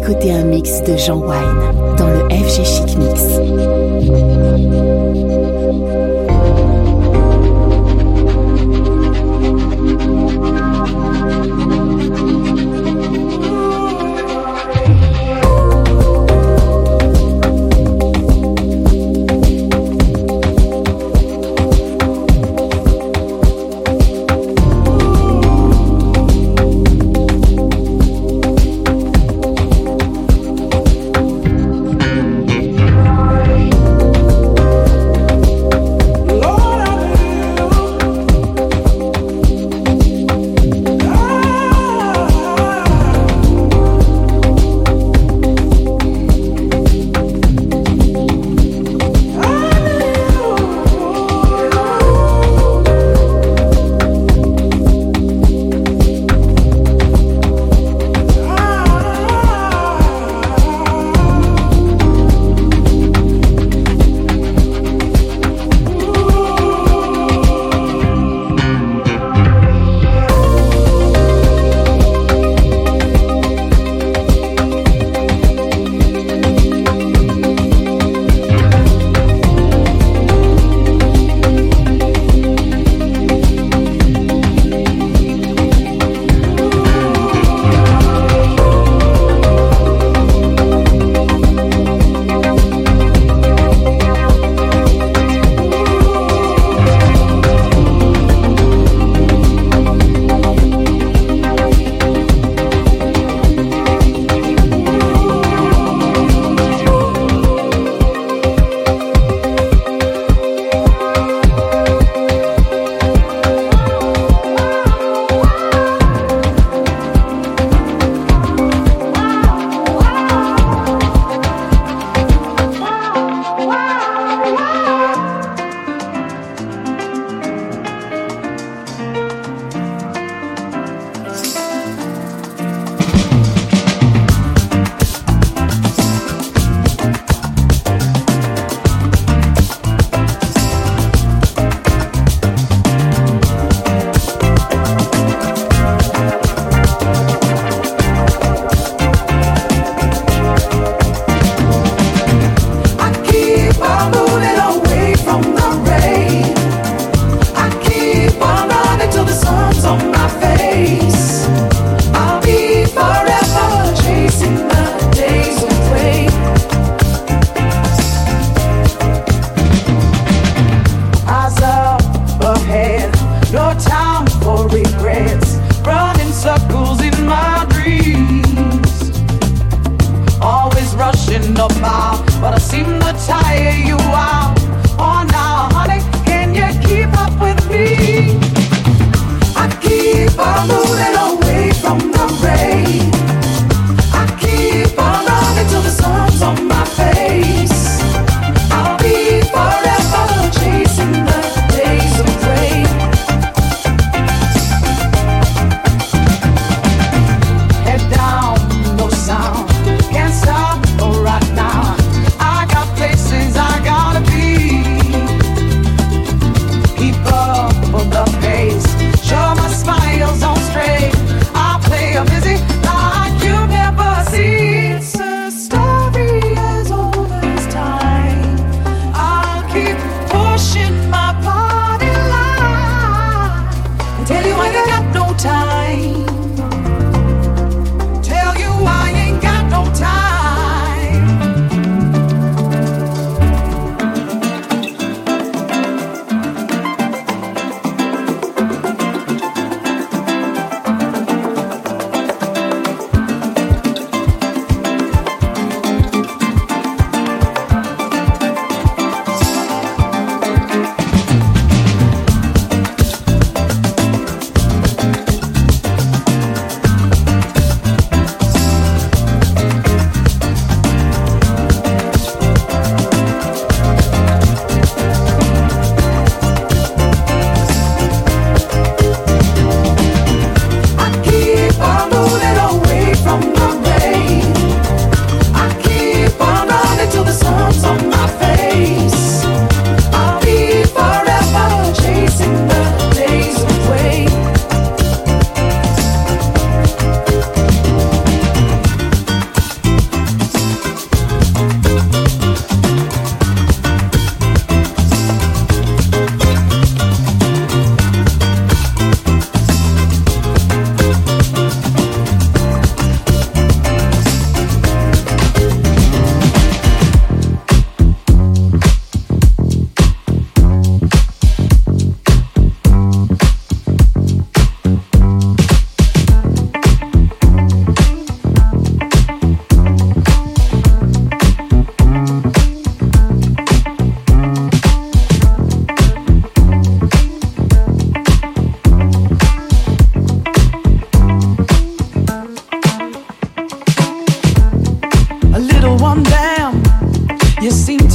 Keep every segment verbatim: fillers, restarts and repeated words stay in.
écouter un mix de Jean Wine dans le F G Chic Mix. Bye.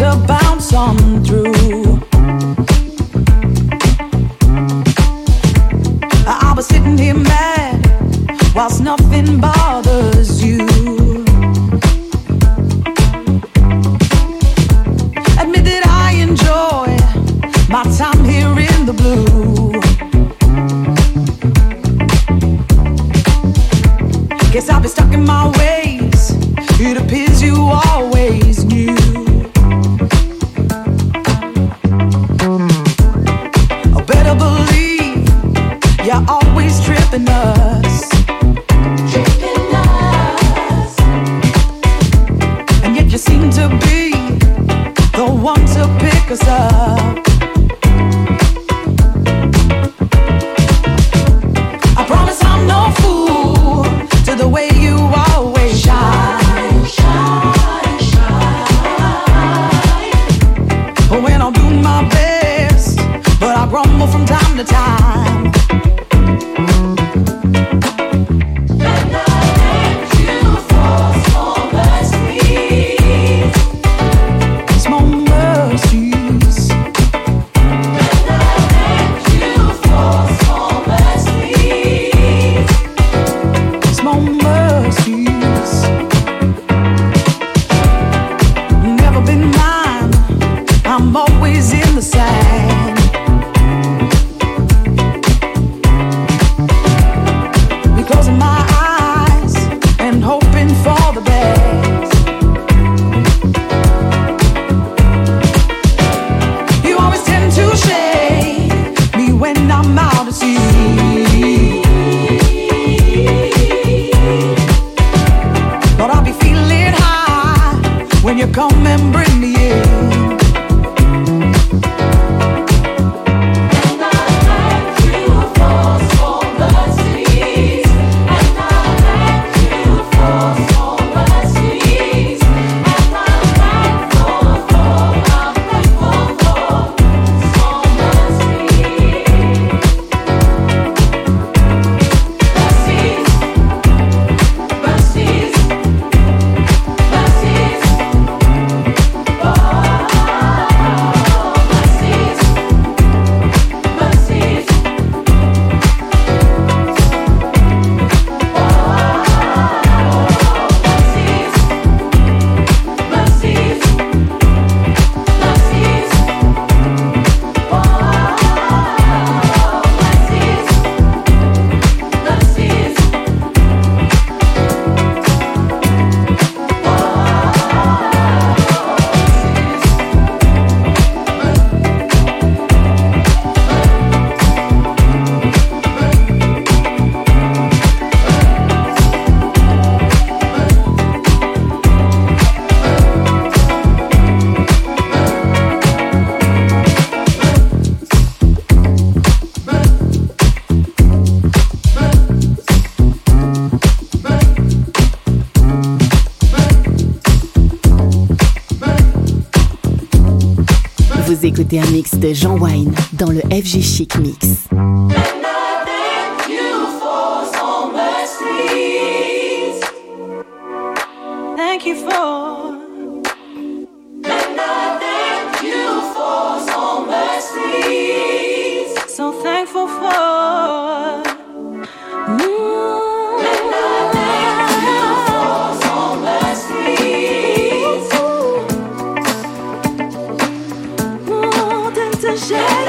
to bounce on through. I was sitting here mad whilst nothing bothers you. Admit that I enjoy my time here in the blue. Guess I've been stuck in my ways. It appears you always knew. I better believe you're always tripping us. Tripping us. And yet you seem to be the one to pick us up. I promise I'm no fool to the way you always shine, shine, shine. When I'm doing my best, but I grumble from time to time. And I thank you for small mercies, small mercies. And I thank you for small mercies, small mercies. Never been mine, I'm always in the sand. Closing my eyes and hoping for the best. You always tend to shade me when I'm out at sea. But I'll be feeling high when you come and bring me in. Vous écoutez un mix de Jean Wine dans le F G Chic Mix. Thank you for, and I thank you for so mercies. So thankful for. Mm. And I thank you for so mercies. More than to share.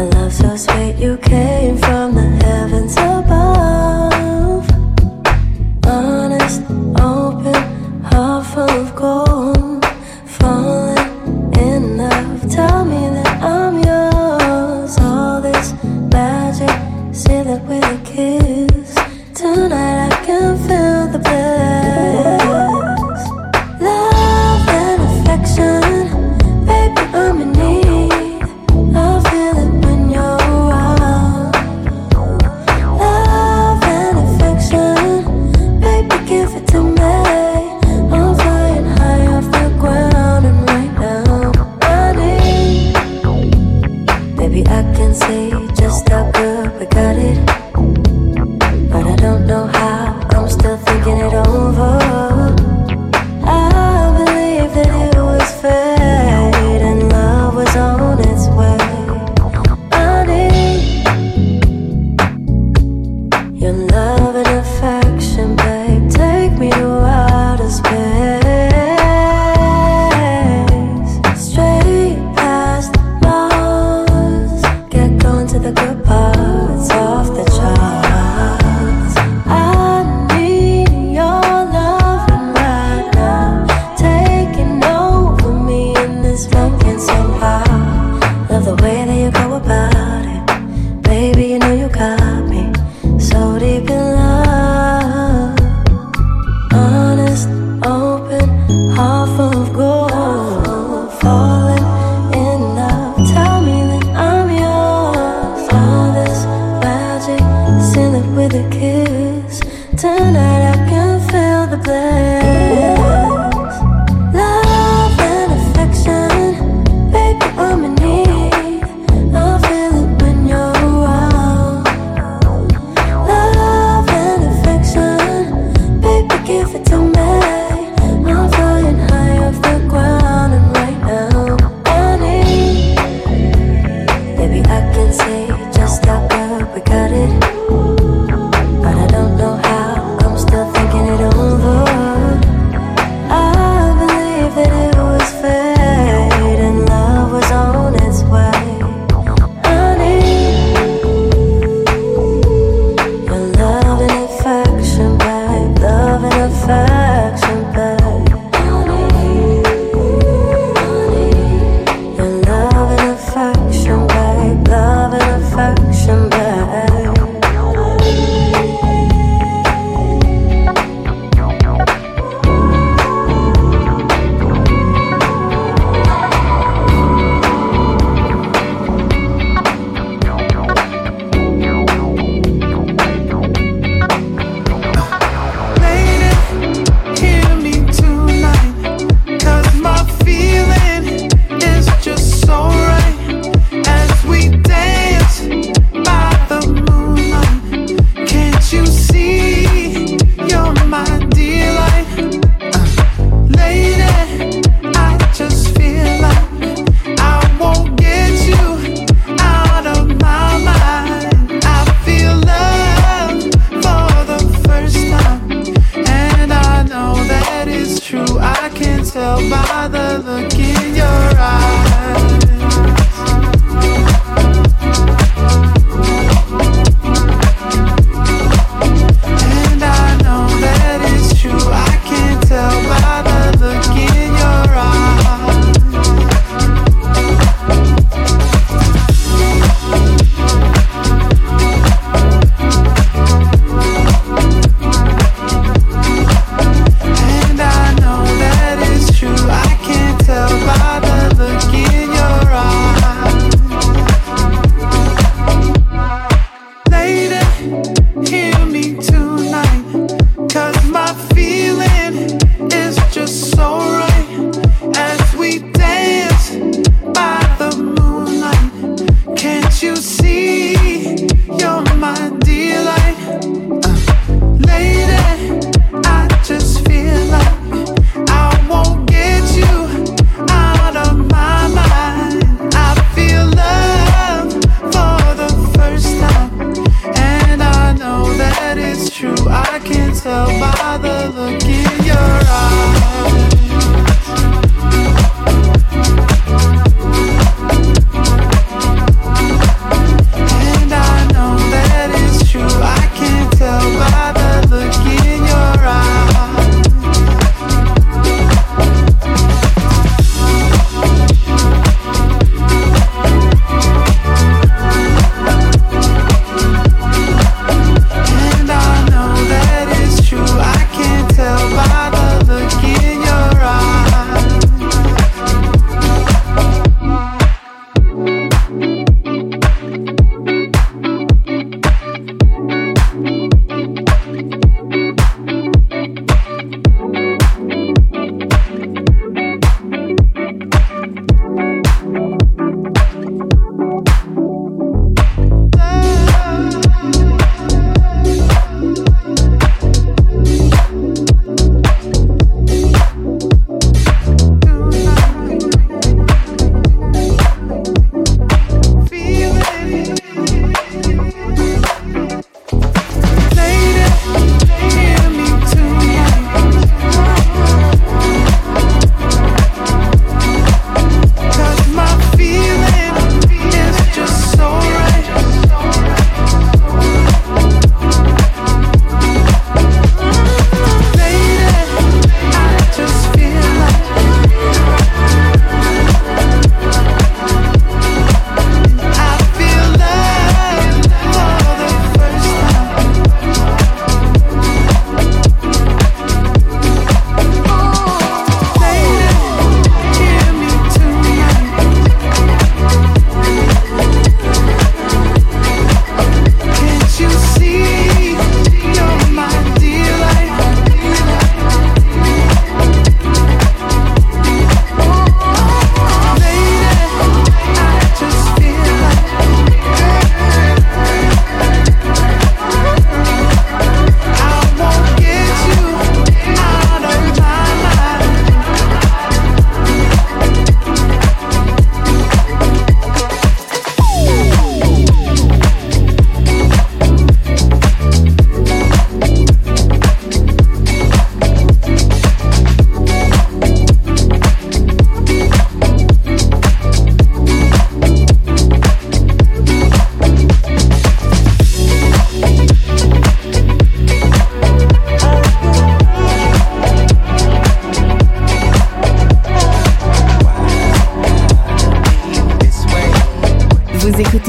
Love and affection, babe.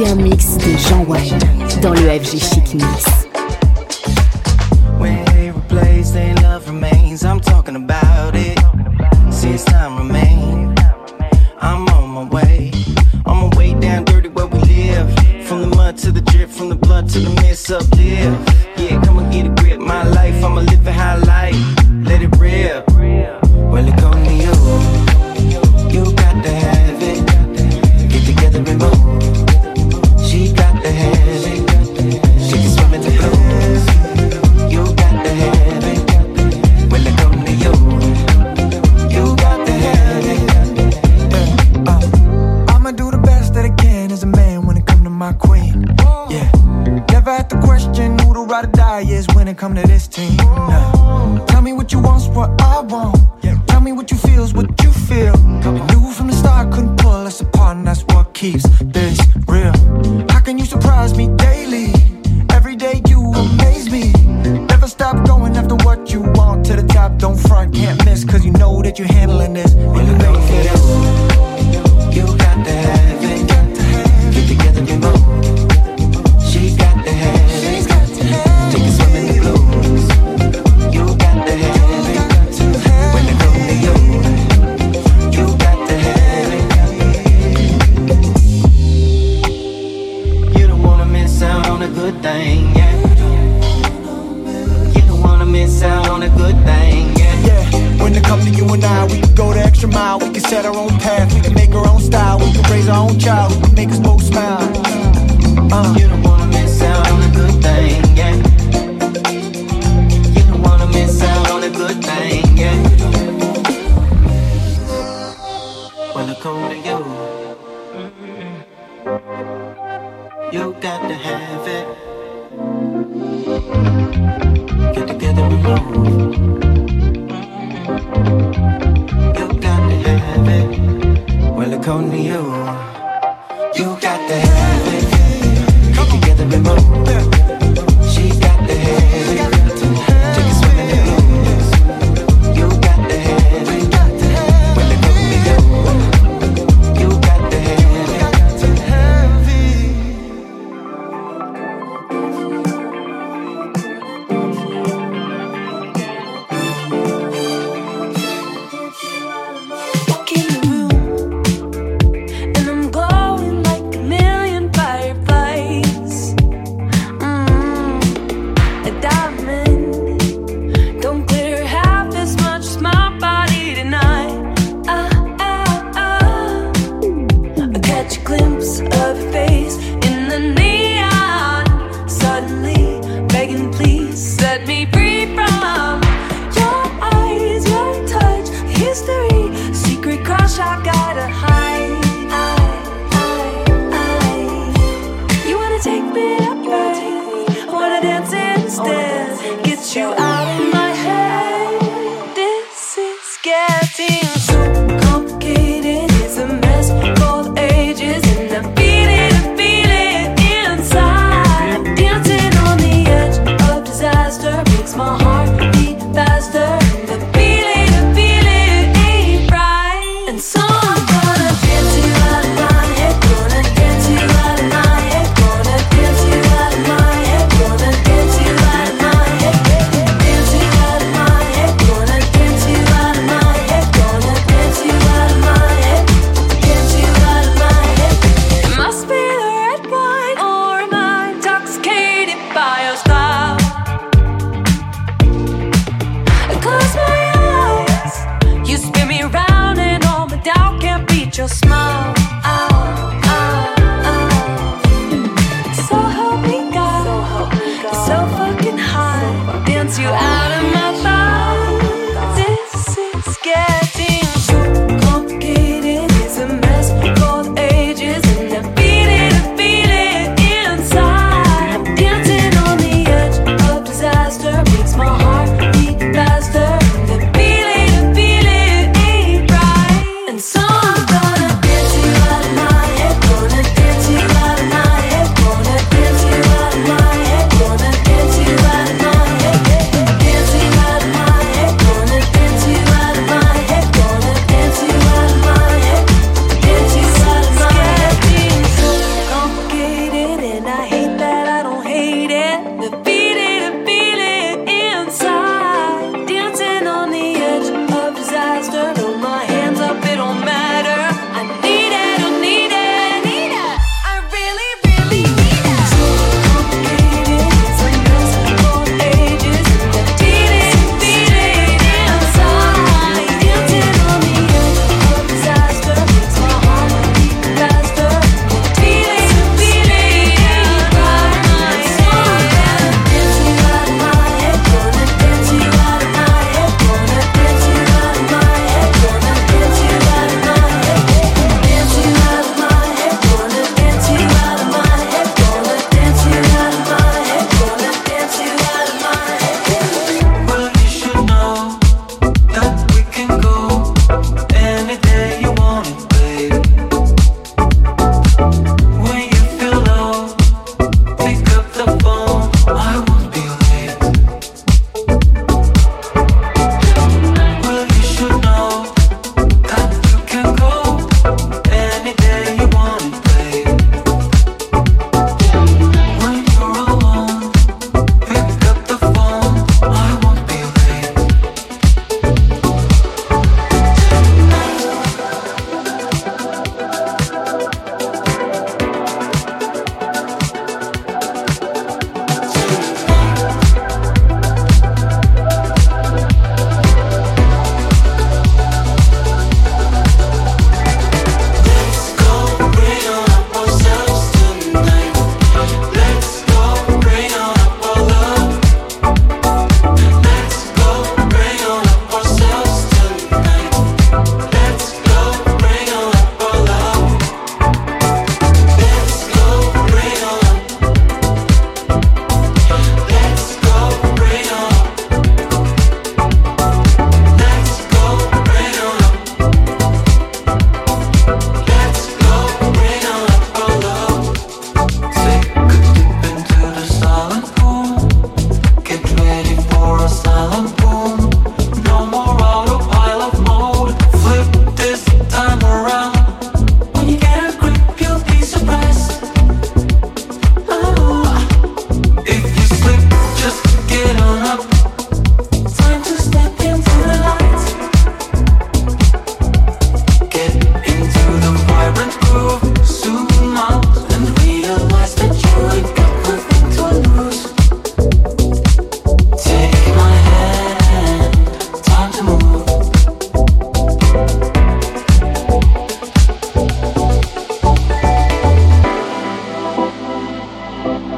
écoutez un mix de Jean Wine dans le F G Chic Mix. When they replace, their love remains. I'm talking about it. Since time remain, I'm on my way. On my way down dirty where we live. From the mud to the drip, from the blood to the mist, uplift. Yeah, come and get a grip. My life, I'ma live a high life. Let it rip. Well, it come to you. You got to have it. Get together and move. She got to have it. She can swim in the blues. You got to have it. Well, it come to you. You got to have it. Uh, I'ma do the best that I can as a man when it come to my queen. Yeah. Never have to question who the ride or die is when it come to this team. Nah. Tell me what you want's what I want. Yeah. Tell me what you feel's what you feel. I knew from the start couldn't pull us apart, and that's what keeps this real. How can you surprise me daily? Every day you amaze me. Never stop going after what you want. To the top, don't front, can't miss. Cause you know that you're handling this. And you ready for this. You got to have it. Get together and move. She got to have it. Take a swim in the blues. You got to have it. When it comes to you, you got to have it. You don't wanna miss out on a good thing, yeah. You don't wanna miss out on a good thing, yeah. Yeah, when it comes to you and I, we can go the extra mile. We can set our own path, we can make our own style. We can raise our own child, we can make us both smile. Uh, you don't wanna miss out on a good thing, yeah. You don't wanna miss out on a good thing, yeah. When I come to you, mm-hmm. You got to have it. Get together and move. Mm-hmm. You got to have it. Well, I come to you. You got to have it. Get together and move. She got to have it. Take a swim in the blues. You got to have it. Well, I come to you. You got to have it. Walk in the room, and I'm glowing like a million fireflies. Mm, a diamond don't glitter half as much as my body tonight. Ah, ah, ah. I catch a glimpse of your face in the neon. Suddenly begging, please set me free from your eyes, your touch, history, secret crush I gotta hide. I, I, I. You wanna take me up, right? I wanna dance instead. Get you out of my head. This is getting so complicated. It's a mess for the ages, and I feel it, I feel it inside. Dancing on the edge of disaster makes my heart beat faster. The feeling, the feeling ain't right. And so I'm gonna dance you out of my head. Gonna dance you out of my head. Gonna dance you out of my head. Gonna dance you out of my head.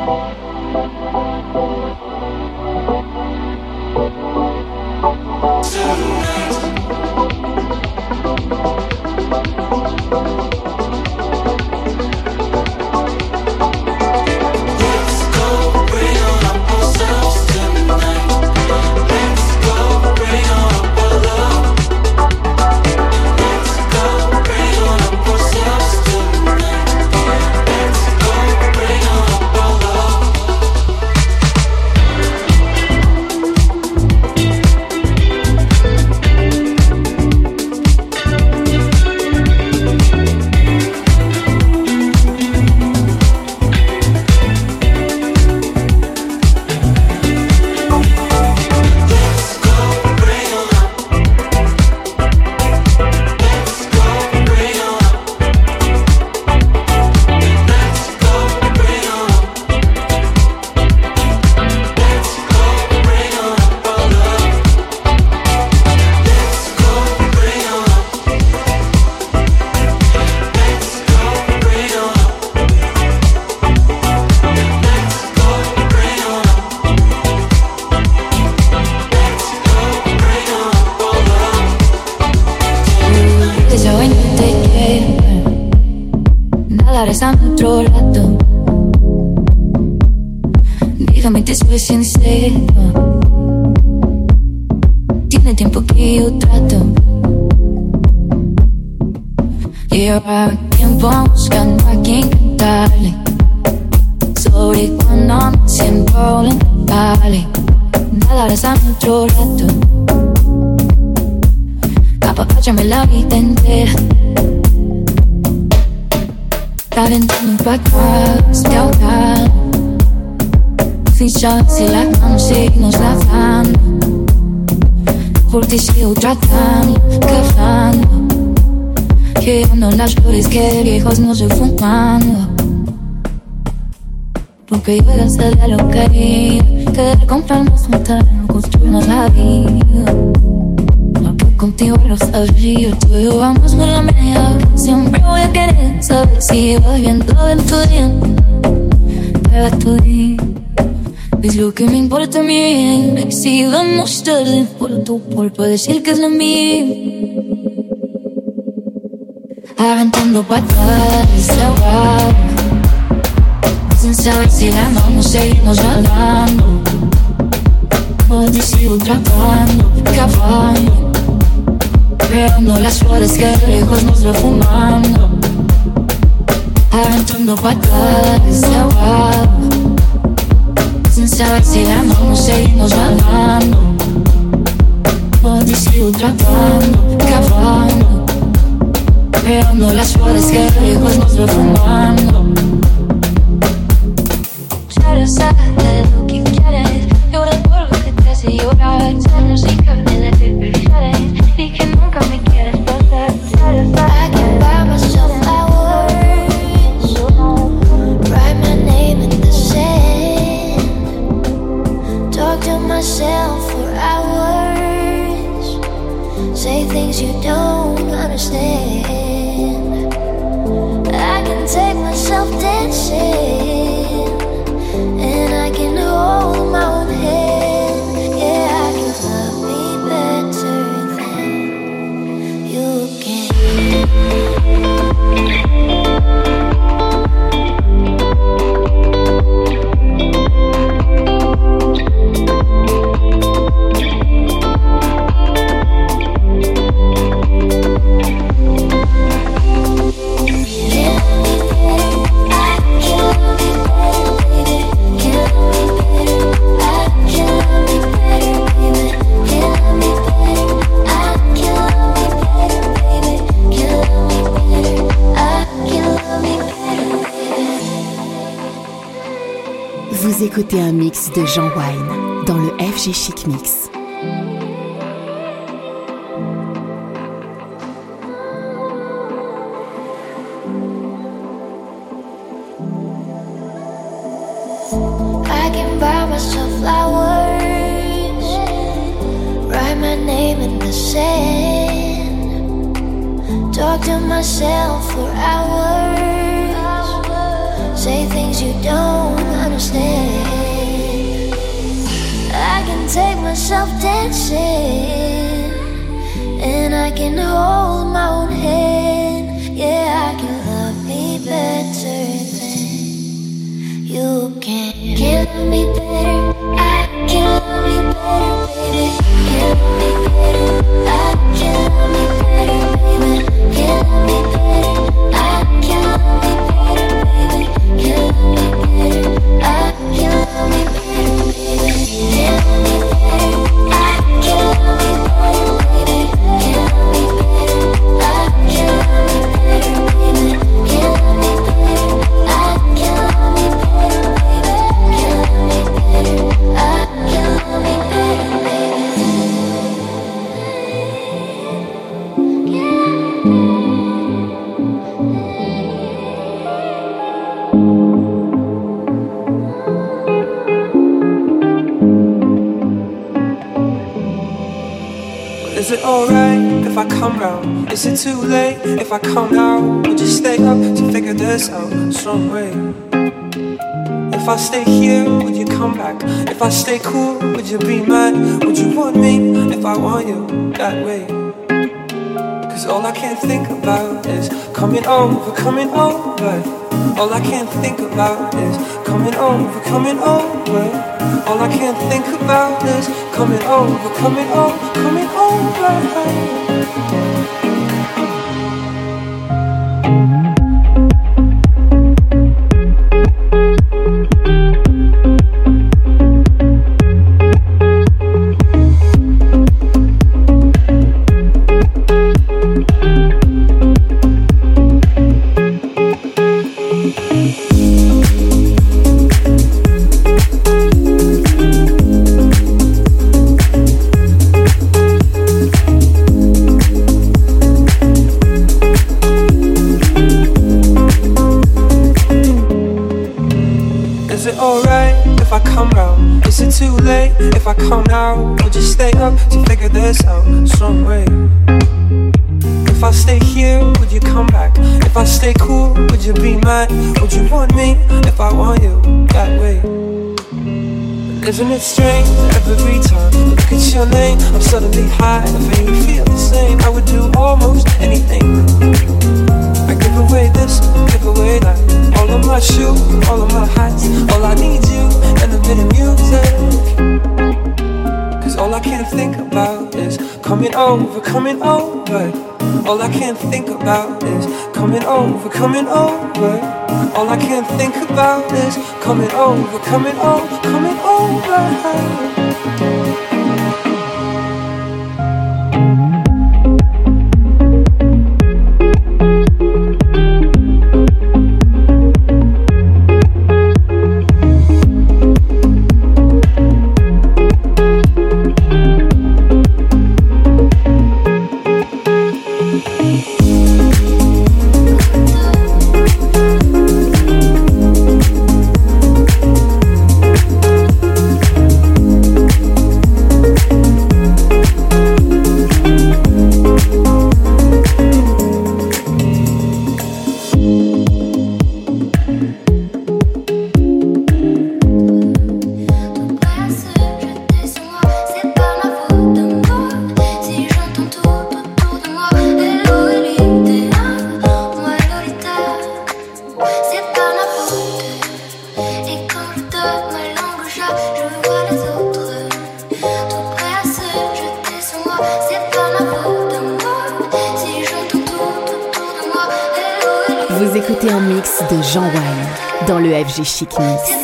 Regresando a otro rato, dígame te soy sincero. Tiene tiempo que yo trato. Lleva tiempo buscando a quien cantarle sobre cuando me siento lamentable. Nada regresando a otro rato, apapáchame la vida entera. Aventando pa' acá, estoy ahogado. Fichas y las manos seguimos lavando. Por ti sigo tratando, cavando. Quedando las flores que de viejos no estoy fumando. Porque yo era ser de lo querido. Querer comprarnos, matar, construirnos la vida. Contigo lo sabía, tú y yo vamos por la media. Siempre voy a querer saber si va bien todo en tu día. Para tu día es lo que me importa a mí. Si vamos tarde por tu culpa decir que es la mía. Aventando patadas desahogado, sin saber si la vamos a seguirnos hablando. Hoy te sigo tratando, cavando. Creando las flores que de lejos nos va fumando. Aventando patadas desahogado, sin saber si la vamos a seguirnos hablando. Hoy te sigo tratando, cavando. Creando las flores que de lejos nos va fumando. Ya sabes de lo que quieres. Llorar por lo que te hace llorar. Sueños sin carne de prioridades. Y que nunca me quieres perder. I can buy myself flowers, write my name in the sand, talk to myself for hours, say things you don't understand. I can take myself dancing, and I can hold my own hand. Yeah, I can love me better than you can. Vous écoutez un mix de Jean Wine dans le F G Chic Mix. I can buy myself flowers, write my name in the sand, talk to myself for hours, say things you don't understand. myself dancing, and I can hold my own hand. Yeah, I can love me better than you can. Can love me better, I can love me better, baby. Can love me better, I can love me better, baby. Can love me better, I can love me better, baby. Can love me better, I can love me better, baby. Can love me better, I can love me better, baby. Can love me better, I can love me better, baby. Can love me better, I can love me better, baby. Can love me better, I can love me better, baby. Is it alright if I come round? Is it too late if I come now? Would you stay up to figure this out some way? If I stay here, would you come back? If I stay cool, would you be mad? Would you want me if I want you that way? Cause all I can think about is coming over, coming over. All I can think about is coming over, coming over. All I can think about is coming over, coming over, coming over. If I come now, would you stay up to figure this out some way? If I stay here, would you come back? If I stay cool, would you be mad? Would you want me if I want you that way? Isn't it strange every time I look at your name, I'm suddenly high, if you feel the same, I would do almost anything. I give away this, give away that, all of my shoes, all of my hats, all I need you and a bit of music. Cause all I can think about is coming over, coming over. All I can think about is coming over, coming over. All I can think about is coming over, coming over, coming over. Vous écoutez un mix de Jean Wine dans le F G Chic Mix.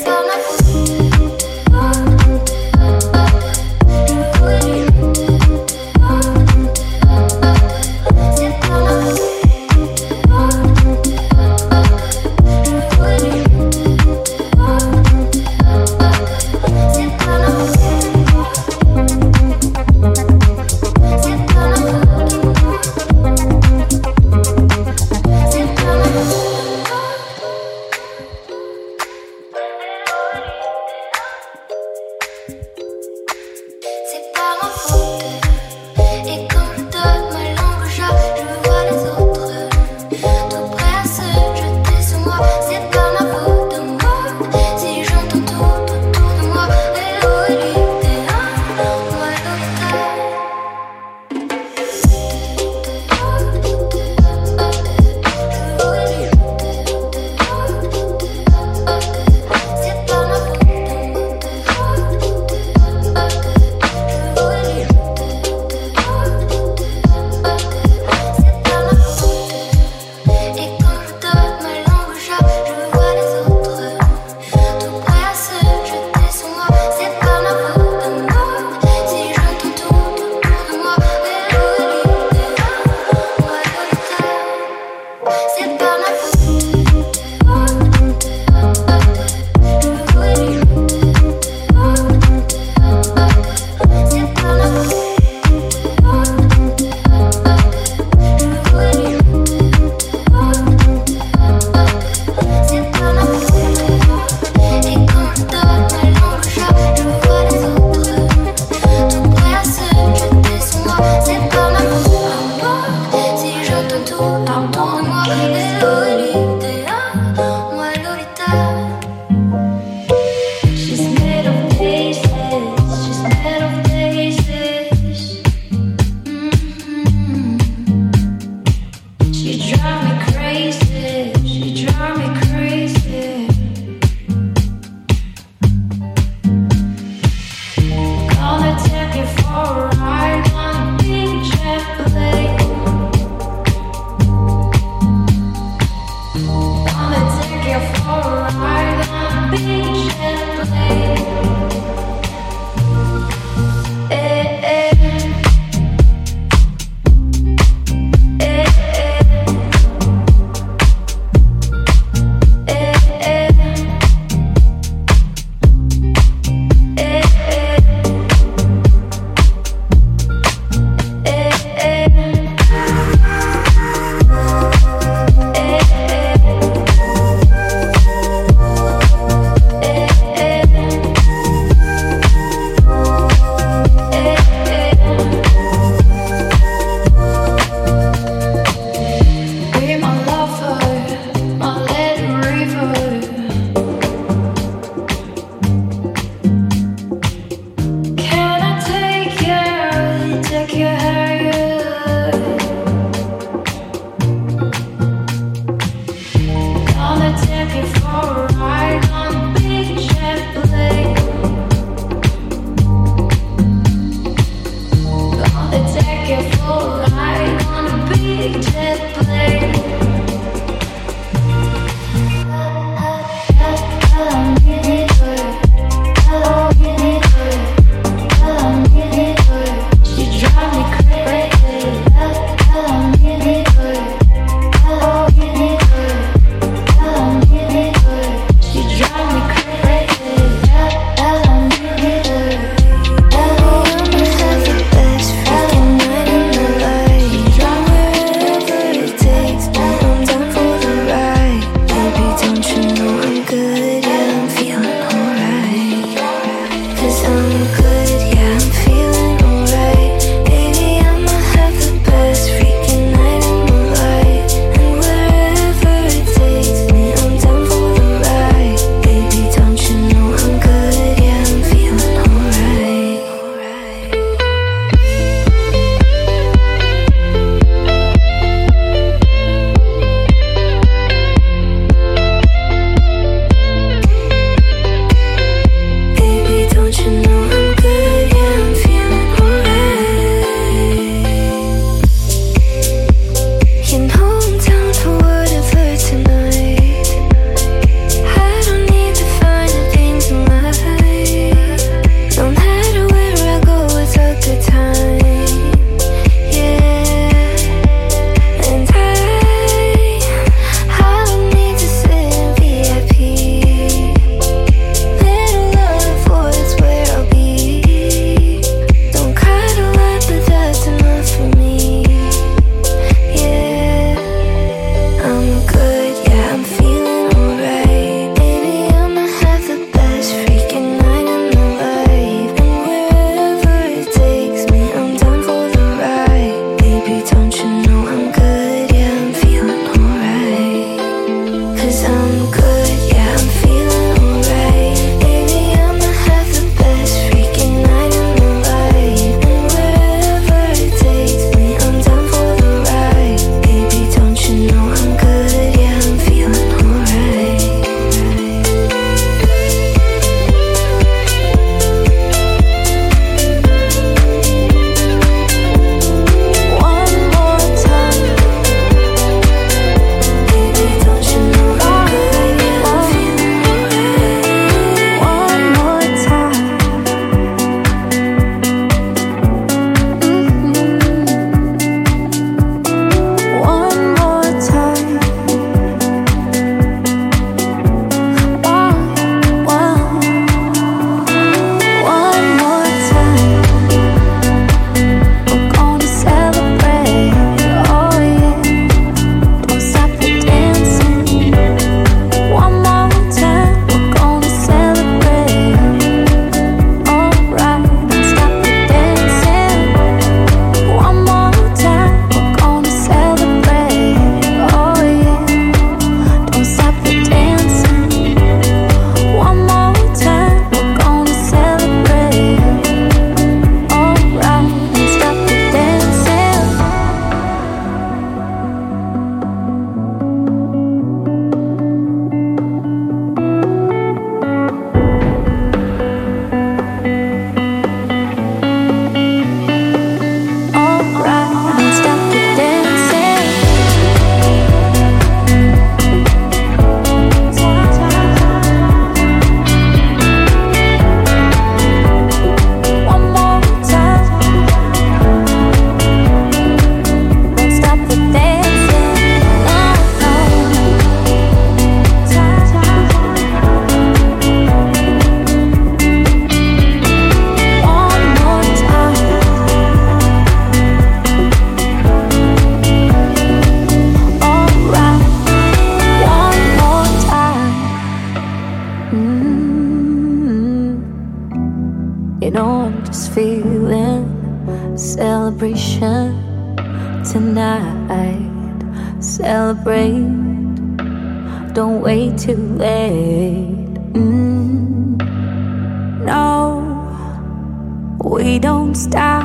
You know I'm just feeling celebration tonight. Celebrate, don't wait too late. Mm. No, we don't stop.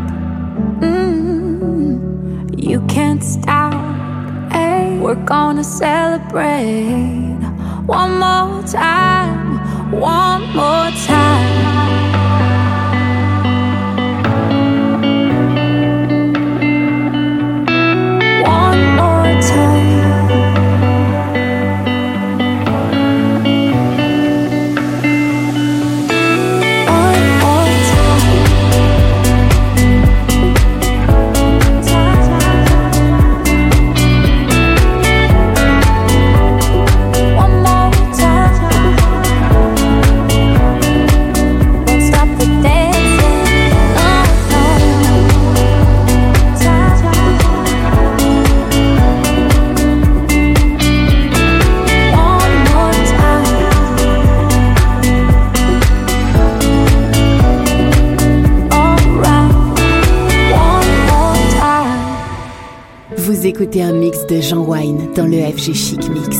Mm. You can't stop. Ay, we're gonna celebrate one more time, one more time. Vous écoutez un mix de Jean Wine dans le F G Chic Mix.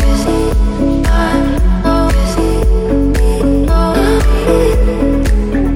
Oh,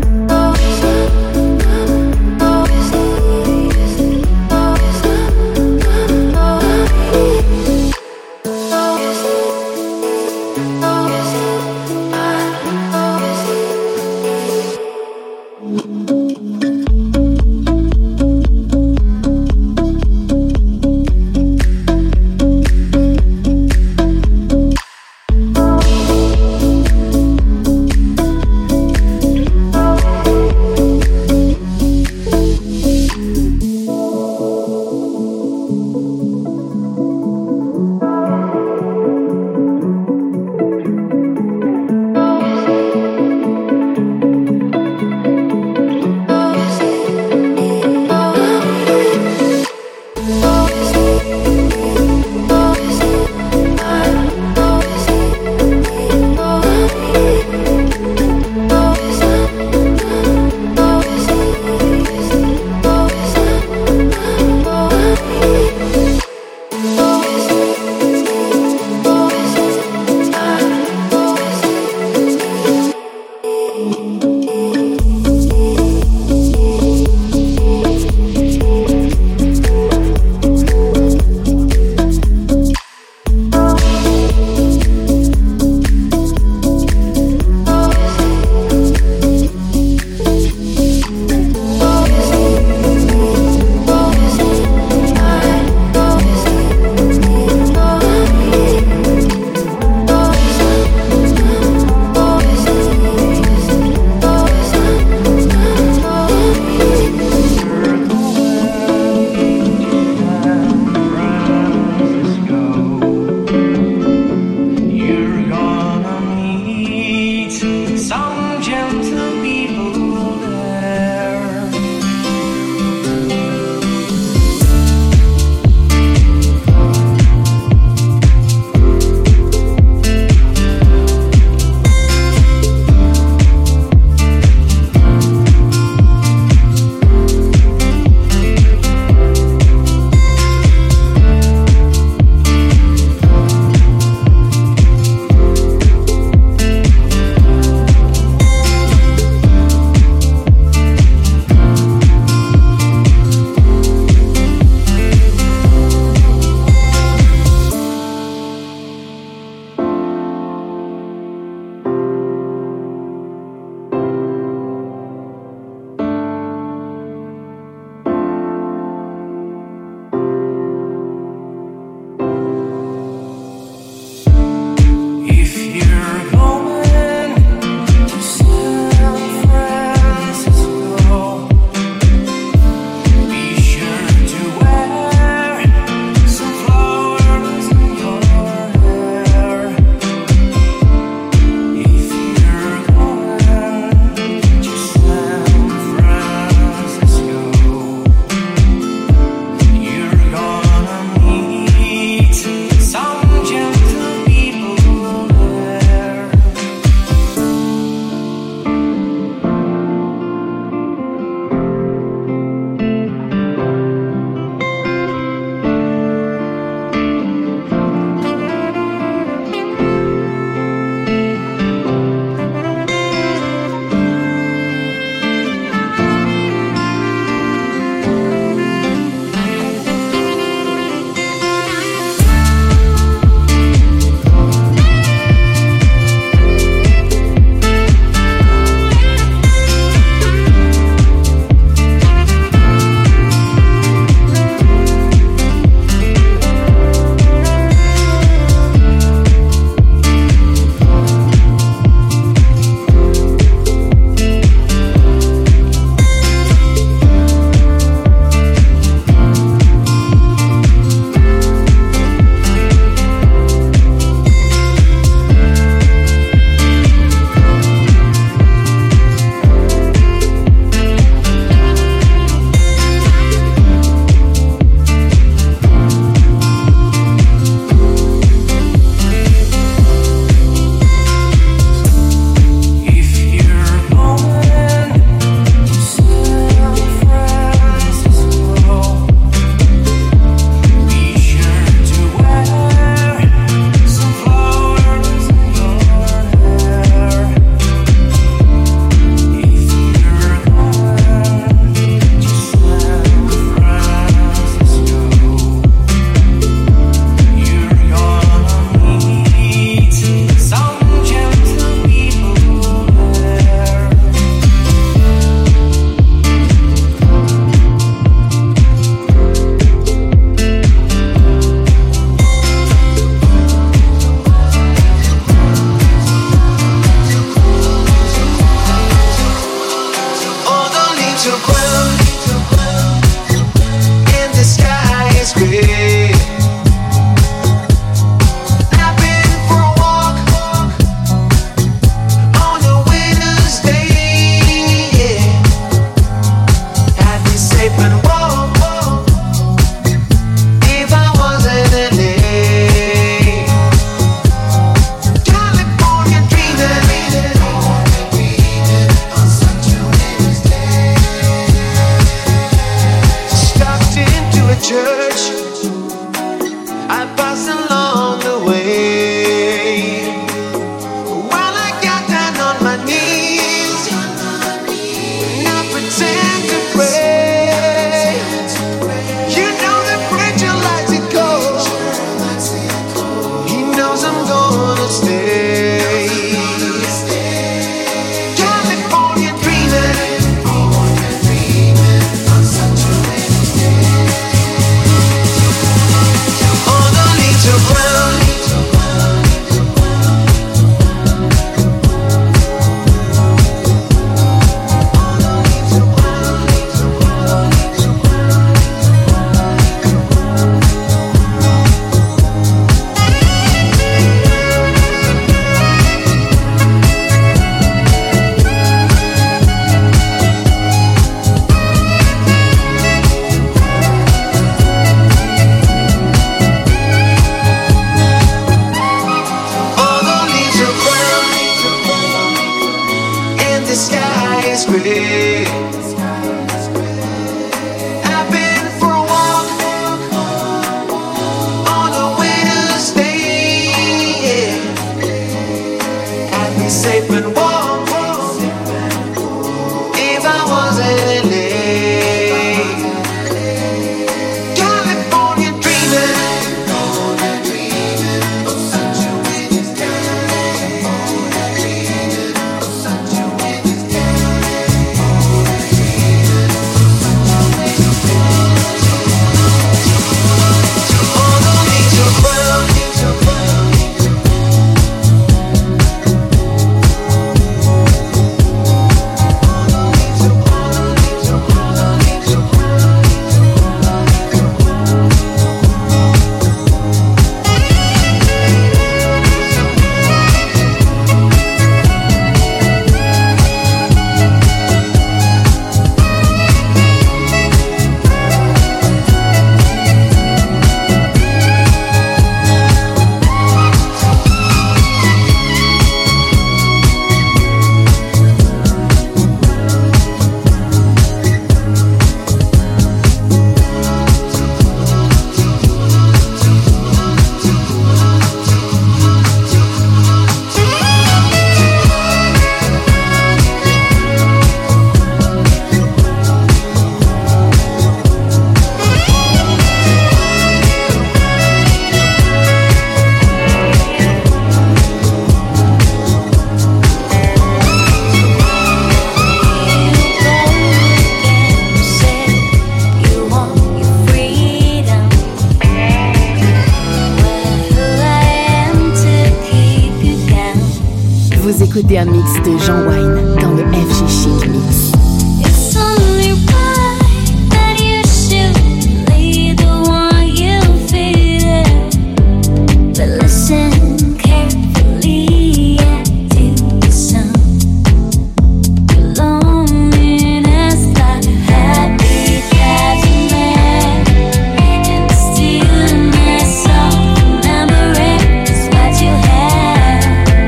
écoutez un mix de Jean Wine dans le F G Chic Mix. It's only right that you should lead the one you feel it. But listen carefully and to the sound. Your loneliness like a happy judgment, and the stillness of remembering is what you have.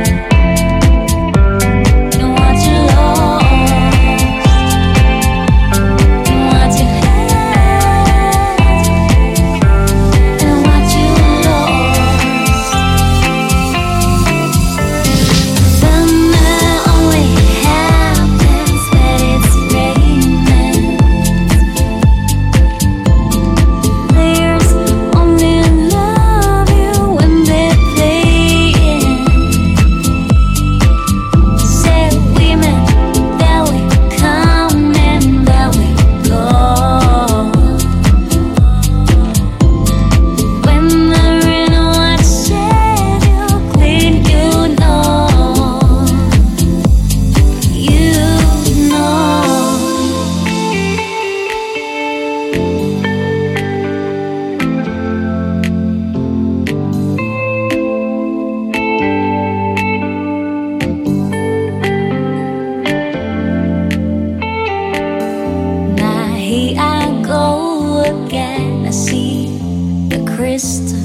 And what you lost, and what you had, and what you lost. Summer only happens when it's raining. Players only love you when they're playing. Say women that we come and that we go. When the rain washes you clean, you know, you know. Now here I go again. I see the crystal